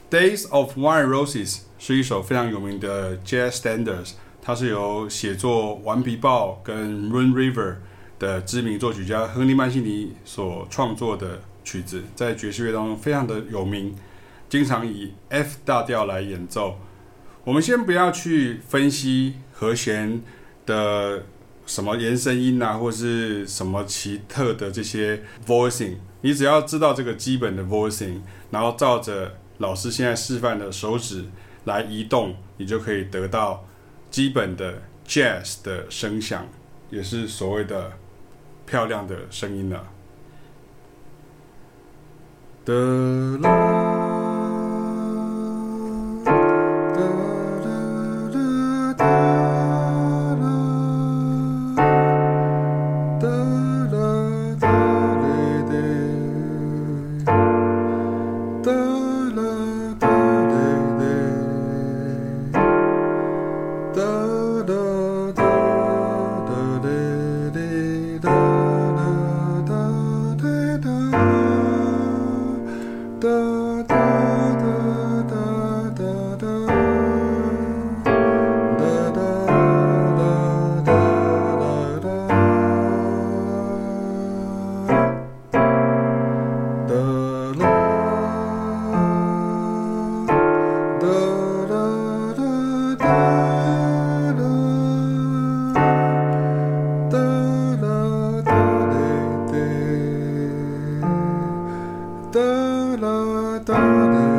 Days of Wine and Roses 是一首非常有名的 Jazz Standards， 它是由寫作《顽皮豹》跟《Moon River》的知名作曲家亨利·曼西尼所創作的曲子，在爵士樂當中非常的有名，經常以 F 大調來演奏。我們先不要去分析和弦的什麼延伸音啊，或是什麼奇特的這些 voicing， 你只要知道這個基本的 voicing， 然後照着老師現在示範的手指來移動，你就可以得到基本的 jazz 的聲響，也是所謂的漂亮的聲音了。 da da da da